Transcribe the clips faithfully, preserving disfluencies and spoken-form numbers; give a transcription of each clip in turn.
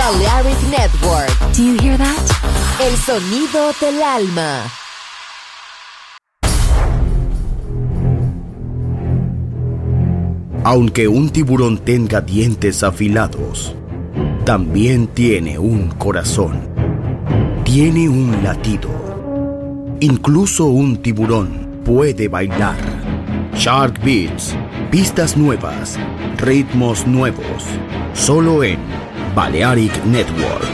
Balearic Network. Do you hear that? El sonido del alma. Aunque un tiburón tenga dientes afilados, también tiene un corazón. Tiene un latido. Incluso un tiburón puede bailar. Shark Beats, pistas nuevas, ritmos nuevos, solo en Balearic Network.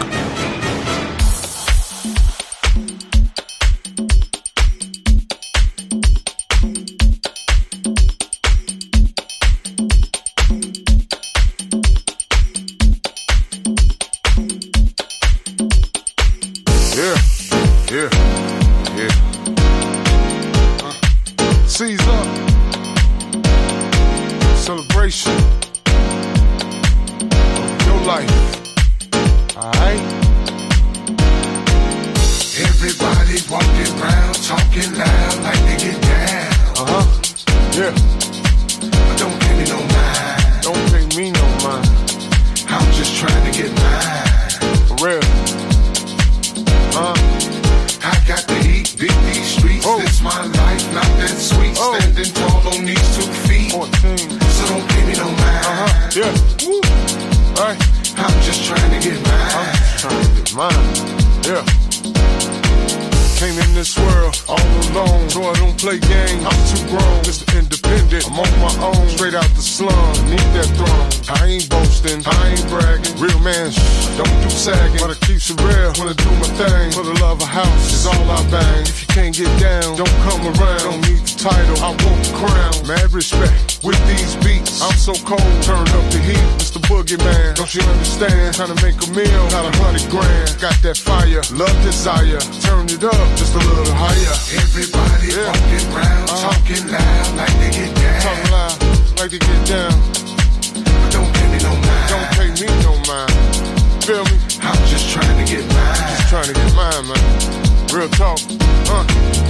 Trying to make a meal, got a hundred grand. Got that fire, love, desire. Turn it up just a little higher. Everybody yeah. walking around, uh-huh. talking loud like they get down. Talking loud like they get down. But don't pay me no mind. Don't pay me no mind. Feel me? I'm just trying to get mine. Just trying to get mine, man. Real talk. Uh.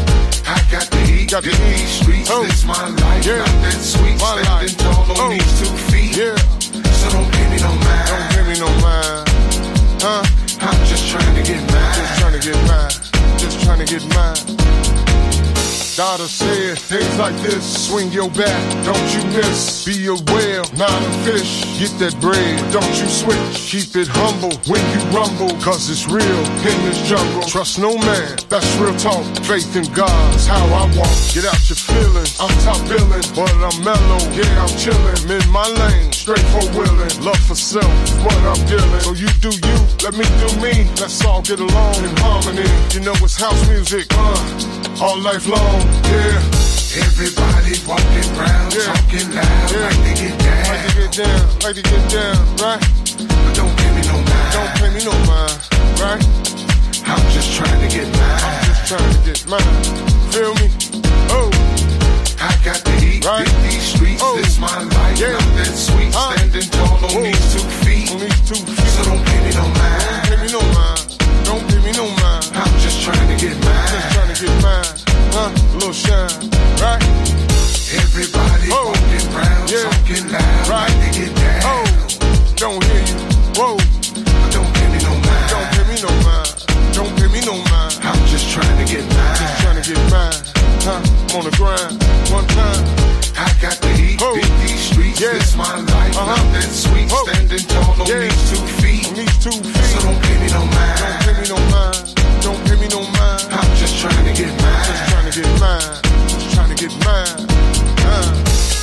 I got the heat, got the heat. These streets, oh. This my life, yeah. Not that sweet. My standing life. Tall on oh. these two feet. Yeah. So don't pay me no mind. Don't pay me no mind. Huh? I'm just trying to get mine. Just trying to get mine. Just trying to get mine. Daughter said, things like this, swing your bat, don't you miss. Be a whale, not a fish. Get that bread, don't you switch. Keep it humble when you rumble, cause it's real in this jungle. Trust no man, that's real talk. Faith in God's how I walk. Get out your feelings, I'm top billing, but I'm mellow, yeah, I'm chillin'. I'm in my lane, straight for willin'. Love for self is what I'm dealing. So you do you, let me do me. Let's all get along in harmony. You know it's house music, uh, all life long. Yeah. Everybody walking around, yeah. talking loud, yeah. like they get down. Like they get down, like they get down, right? But don't pay me no mind. Don't pay me no mind, right? I'm just trying to get mine. I'm just trying to get mine. Feel me? Oh. I got the heat, right? Hit these streets, oh. This my life, yeah. Not that sweet. Huh? Standing tall on oh. these two feet. On these two feet. So don't pay me no mind. Don't pay me no mind. Don't pay me no mind. I'm just trying to get mine. Just trying to get mine. Huh? A little shine, right? Everybody oh. walking around, yeah. talking loud, right? Like they get down. Oh, don't hear you. Whoa. But don't pay me no mind. Don't pay me no mind. Don't pay me no mind. I'm just trying to get mine. Just trying to get mine. Huh? I'm on the grind. One time. I got the heat. Oh. Beat these streets. Yeah. This my life. Uh-huh. Not that sweet. Oh. Standing tall on yeah. these two feet. On these two feet. So don't pay me no mind. Don't pay me no mind. Don't pay me no mind. I'm just trying to get mine. Just trying to get mine. Just trying to get mine. Uh.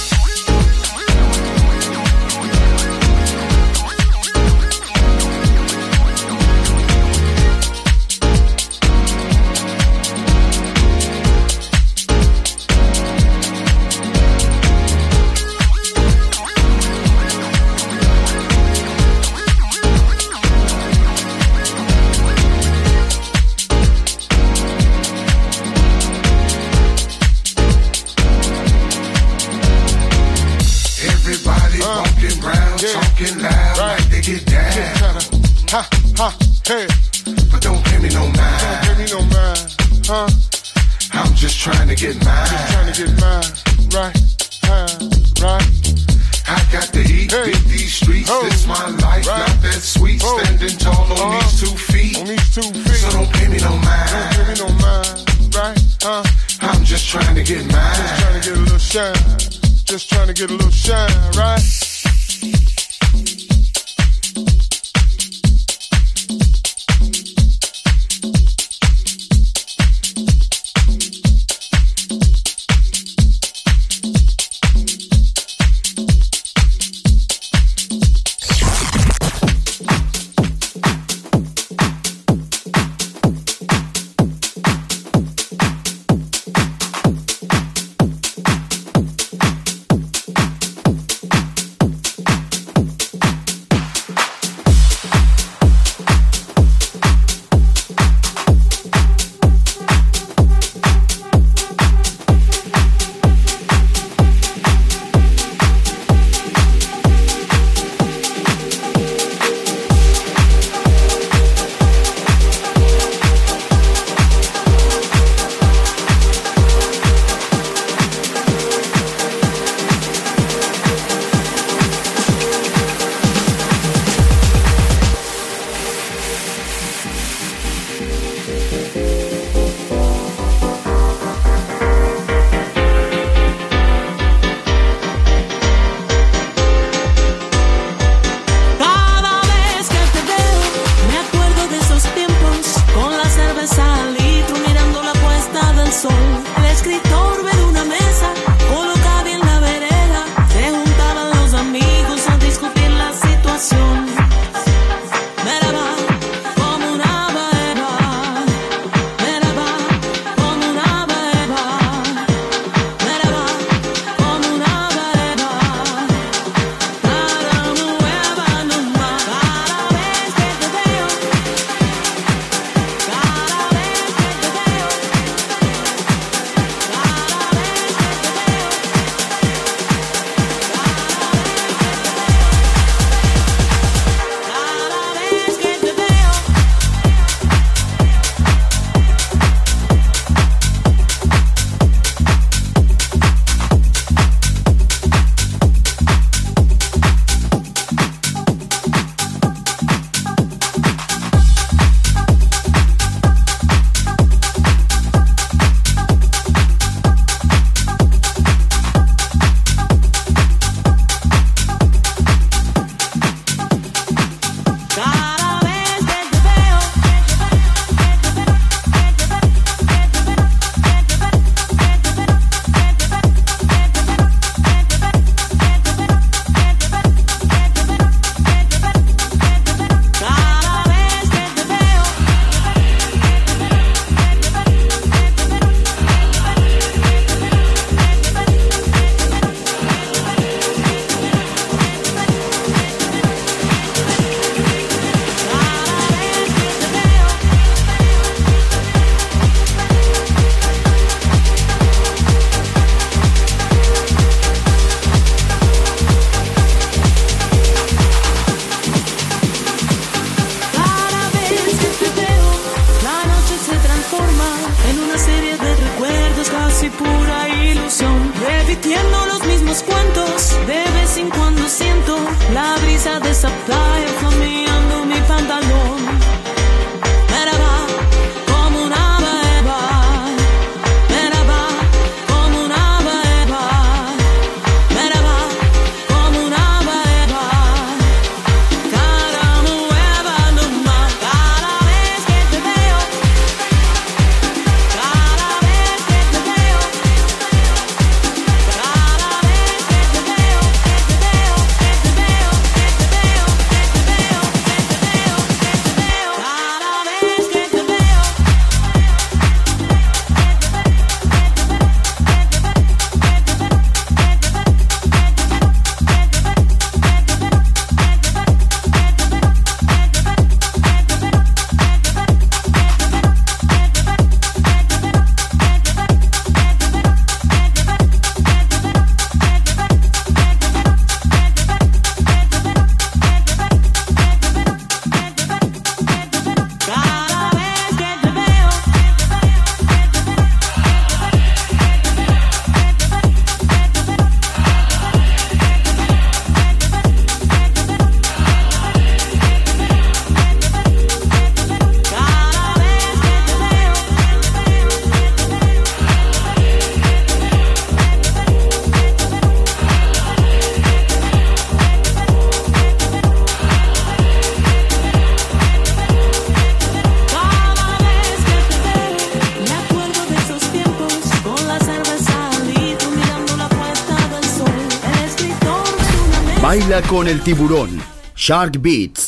Talking loud, right. Like they get down. Kinda, ha, ha, hey. But don't pay me no mind. Don't pay me no mind, huh? I'm just trying to get mine. Just trying to get mine, right, huh, right. I I got to eat, hey. Beat these streets, oh. This my life, right. Not that sweet, oh. Standing tall on uh-huh. these two feet, on these two feet. So don't pay me no mind, don't pay me no mind, right? Huh? I'm just trying to get mine, just trying to get a little shine, just trying to get a little shine, right? Baila con el tiburón. Shark Beats.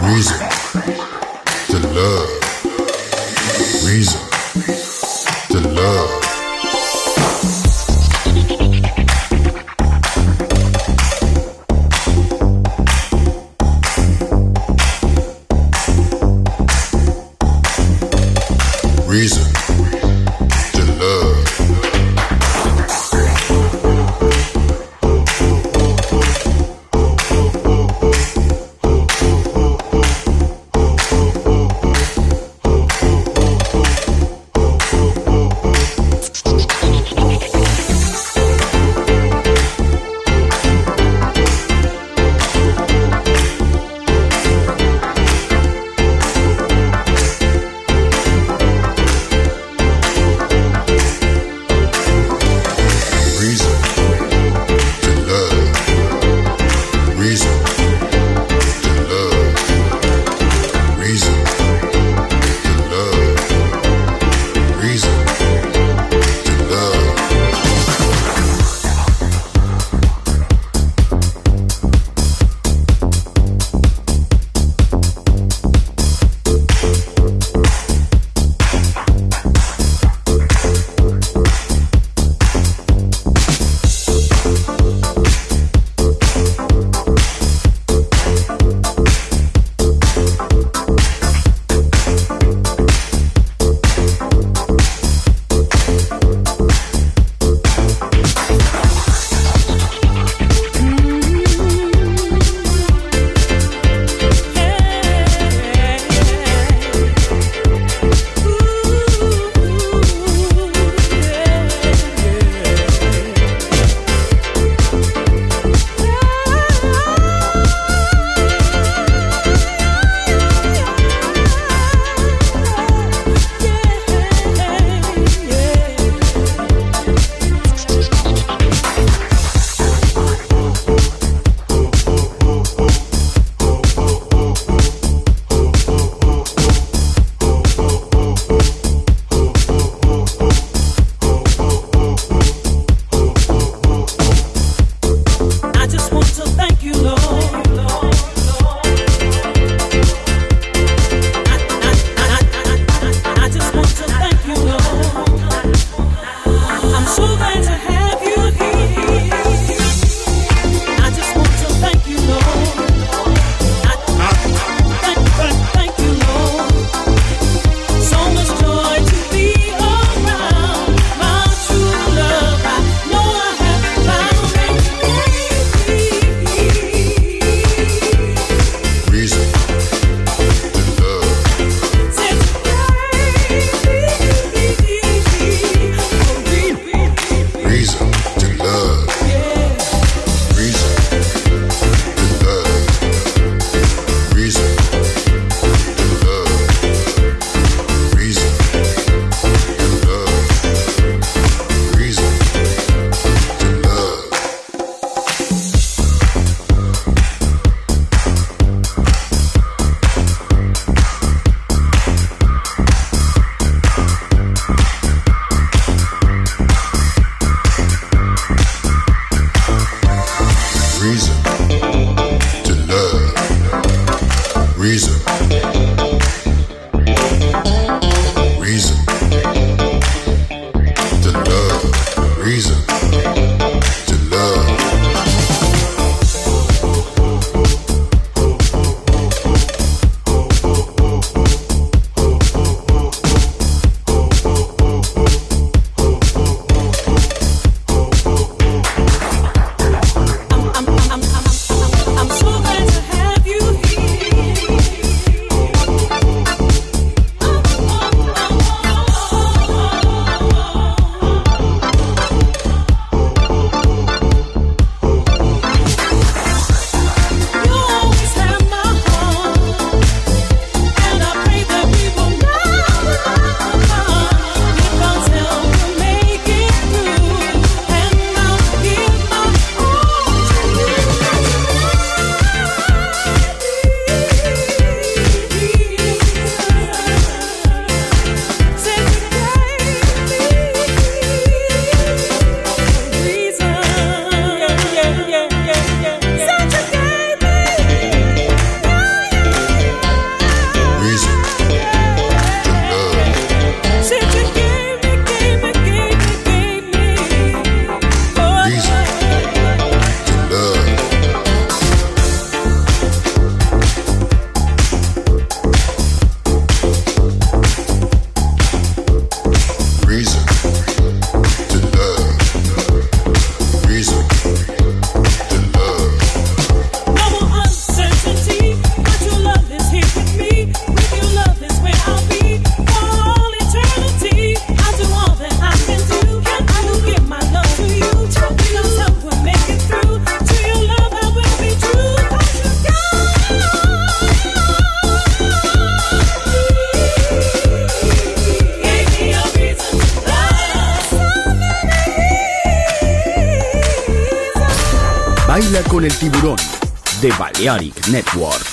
Reason to love. Reason to love. Reason to love. I'm so glad to have you here. Baila con el tiburón de Balearic Network.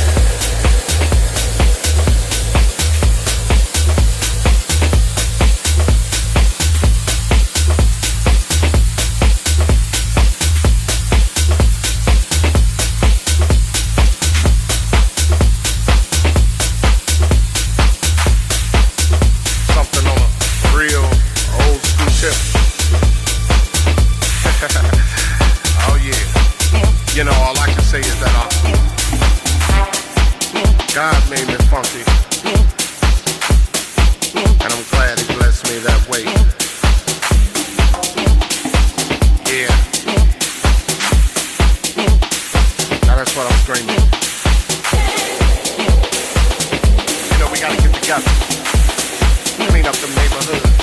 Oh yeah. together. Clean up the neighborhood.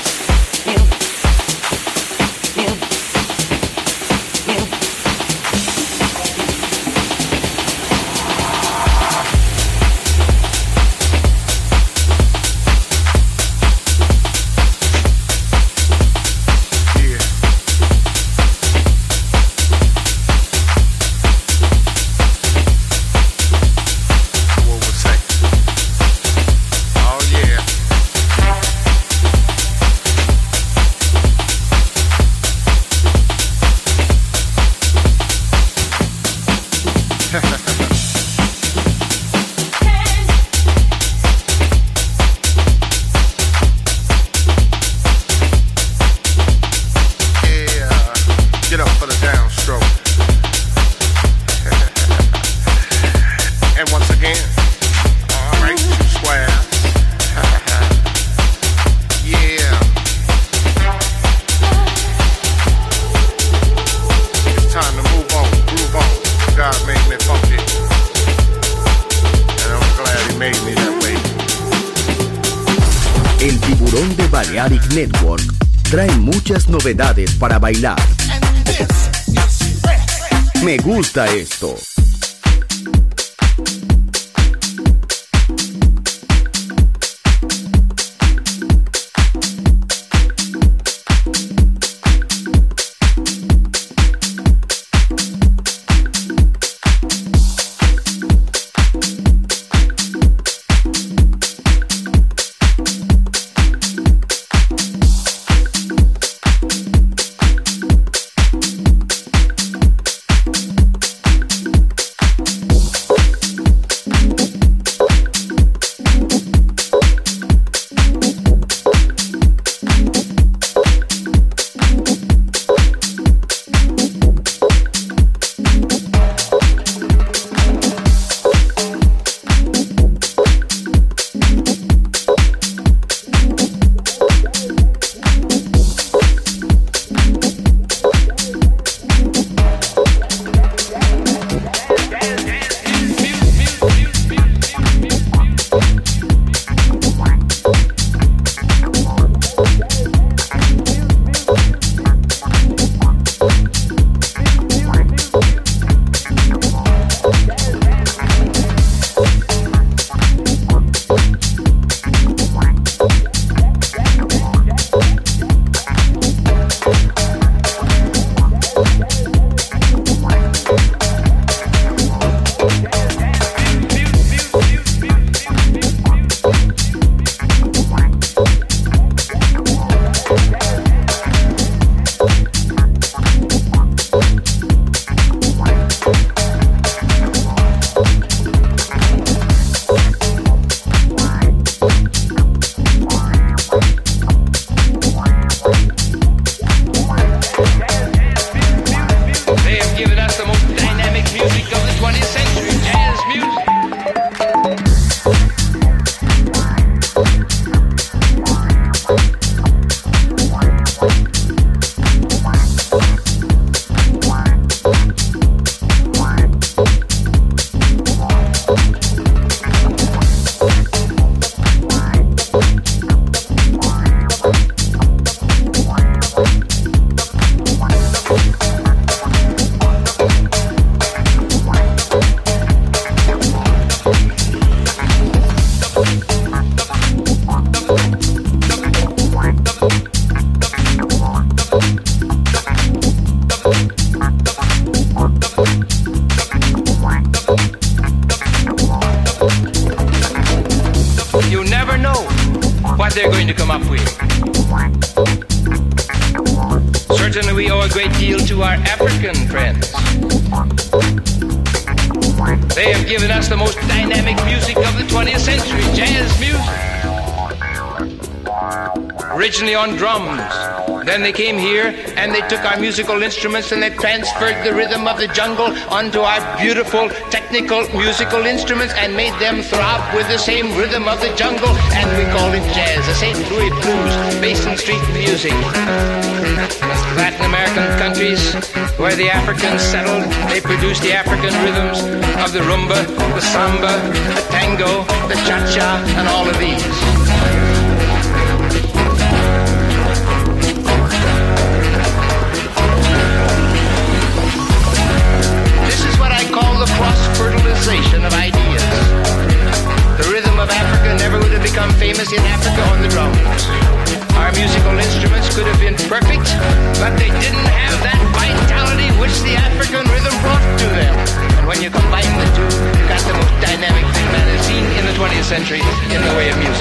Balearic Network trae muchas novedades para bailar. Me gusta esto. they're going to come up with. Certainly we owe a great deal to our African friends. They have given us the most dynamic music of the twentieth century, jazz music. Originally on drums. Then they came here and they took our musical instruments and they transferred the rhythm of the jungle onto our beautiful technical musical instruments and made them throb with the same rhythm of the jungle, and we call it jazz, the Saint Louis blues, Basin Street music. Latin American countries where the Africans settled, they produced the African rhythms of the rumba, the samba, the tango, the cha-cha, and all of these. become famous in Africa on the drums. Our musical instruments could have been perfect, but they didn't have that vitality which the African rhythm brought to them. And when you combine the two, you got the most dynamic thing that is seen in the twentieth century in the way of music.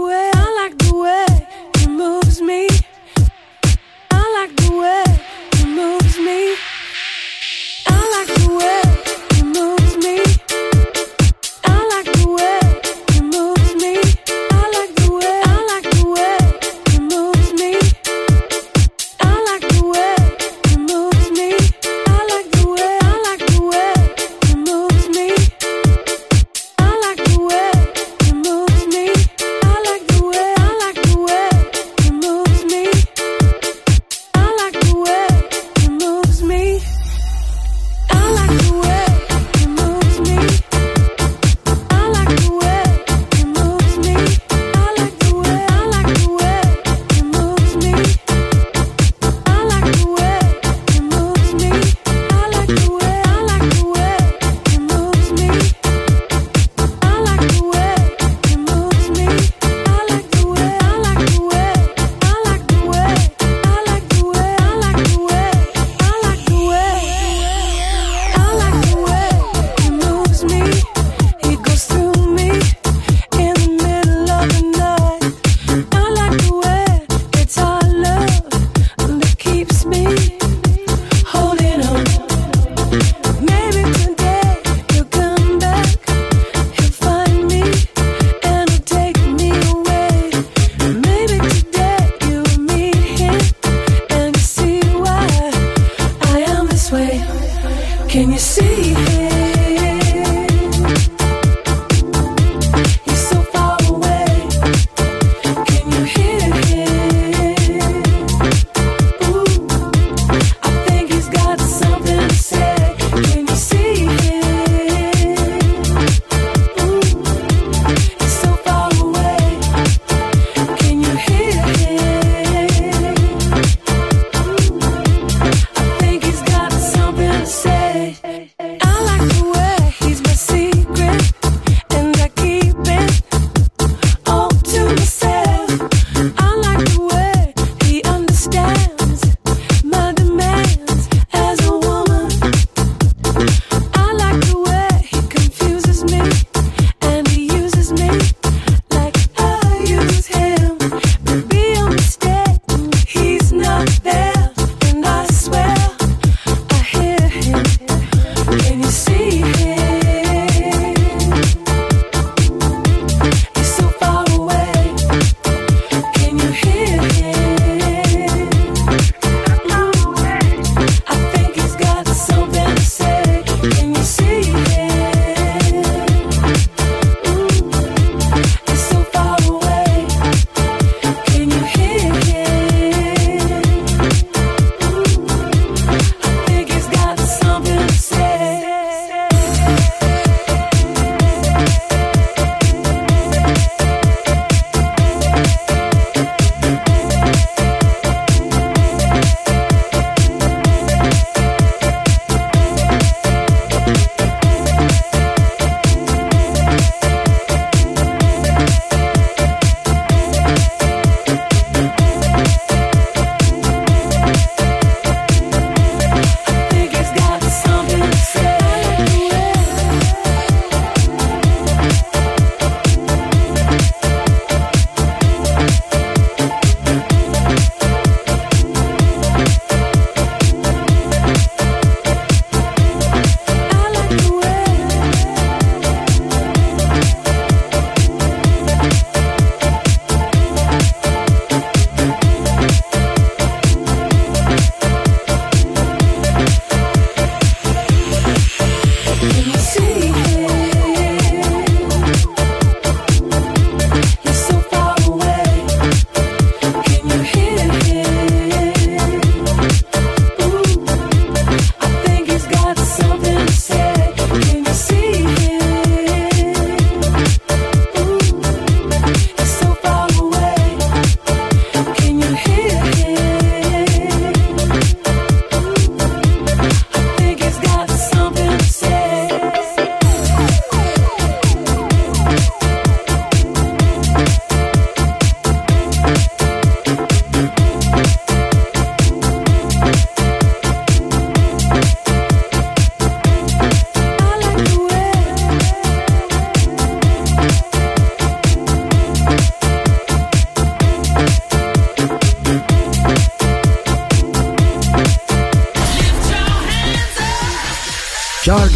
The way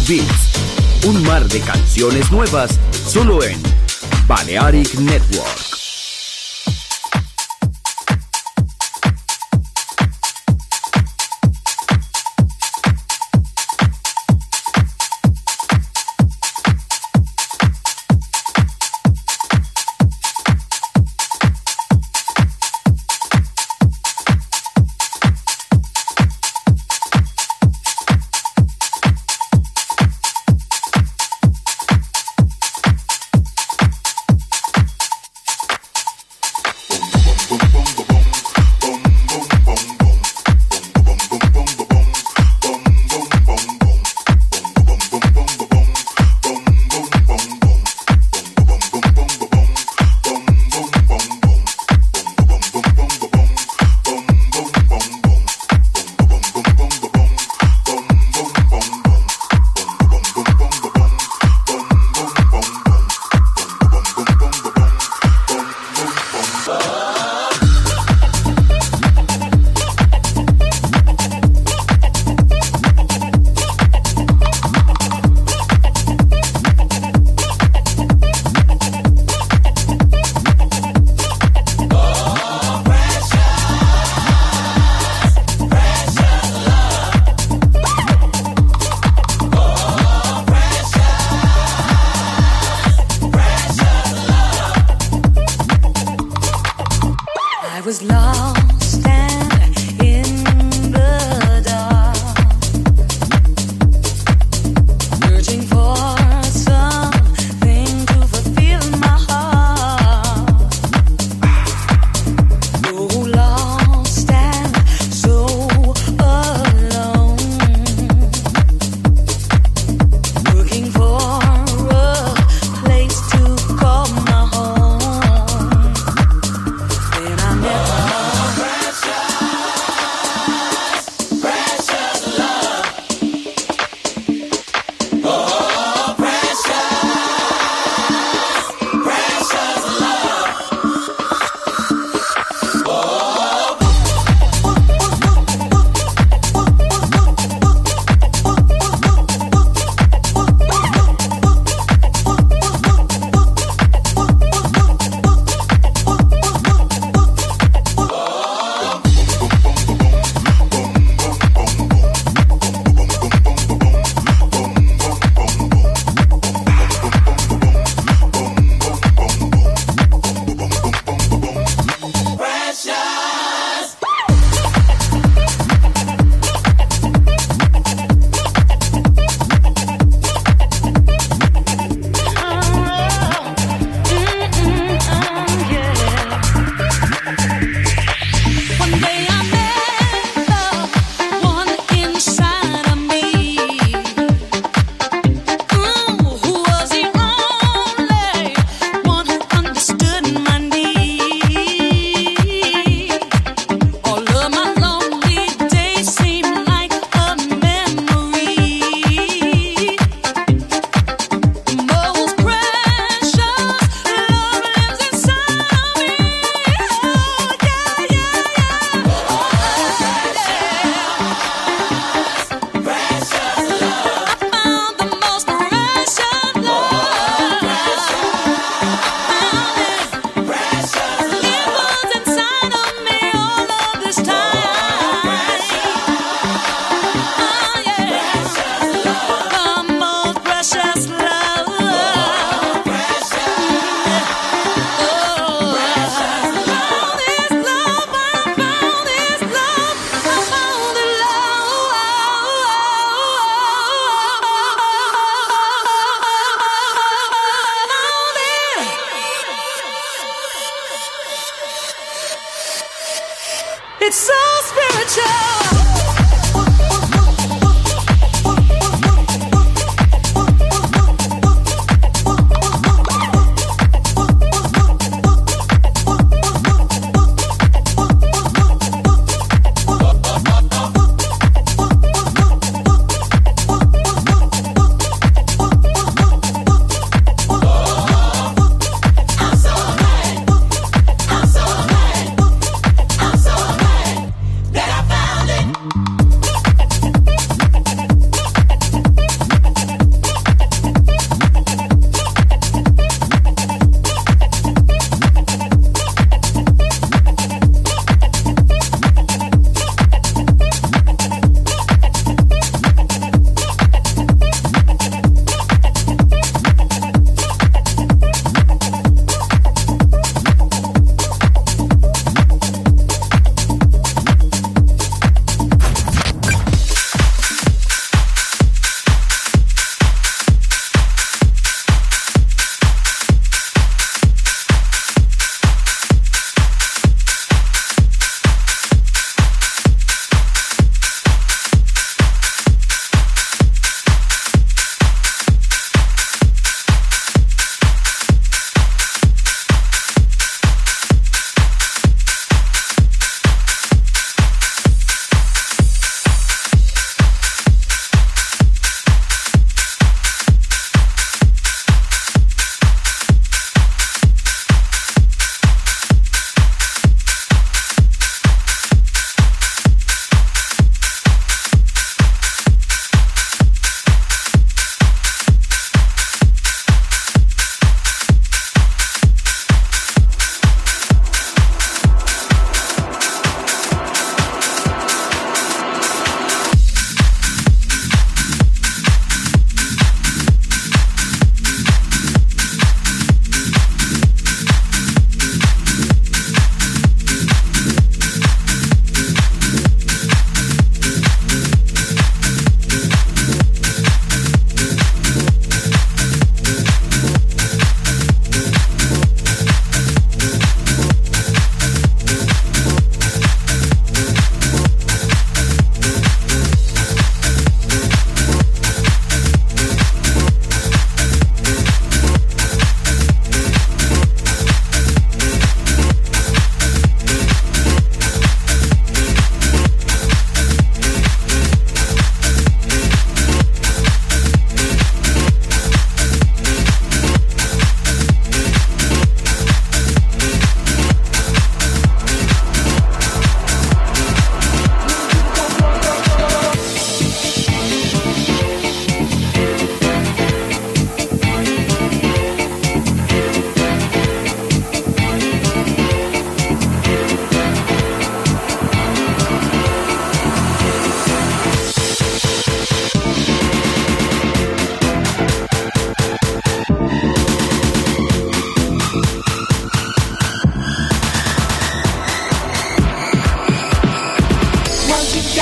Beats. Un mar de canciones nuevas solo en Balearic Network. It's so spiritual. That I found it.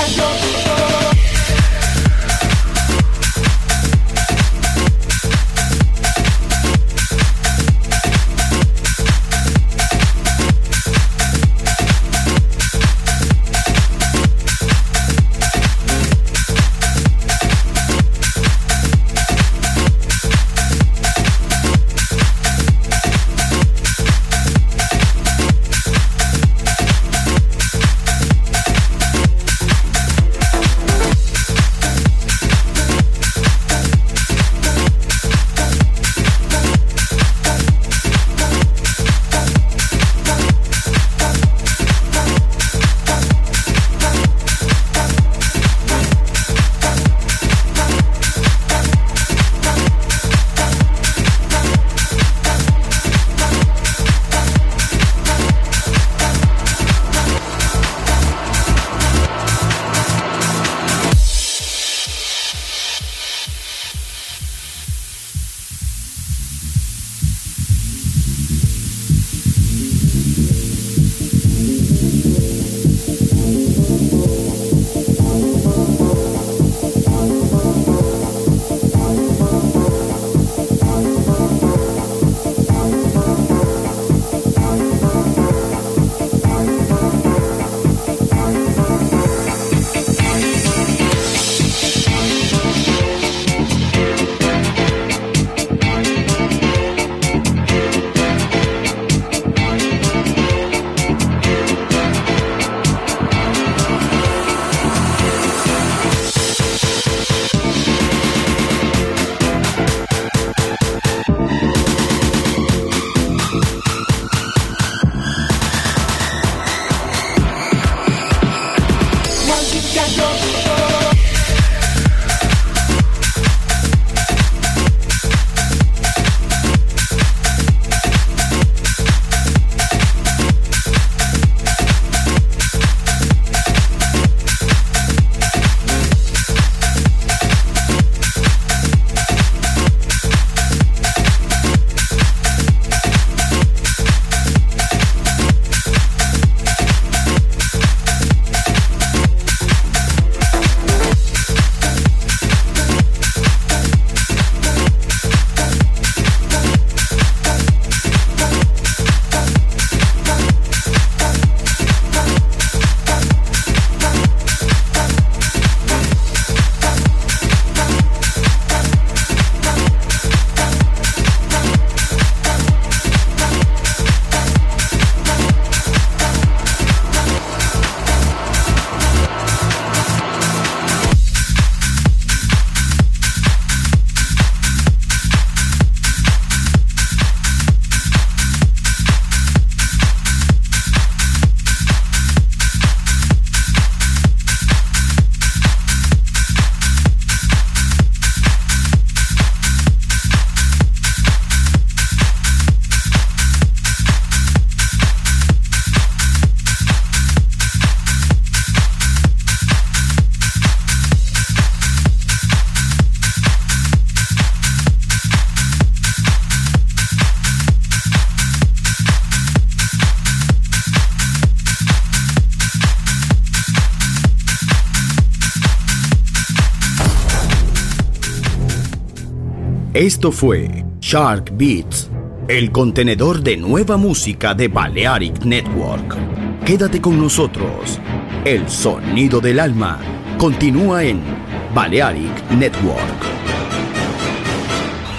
Esto fue Shark Beats, el contenedor de nueva música de Balearic Network. Quédate con nosotros. El sonido del alma continúa en Balearic Network.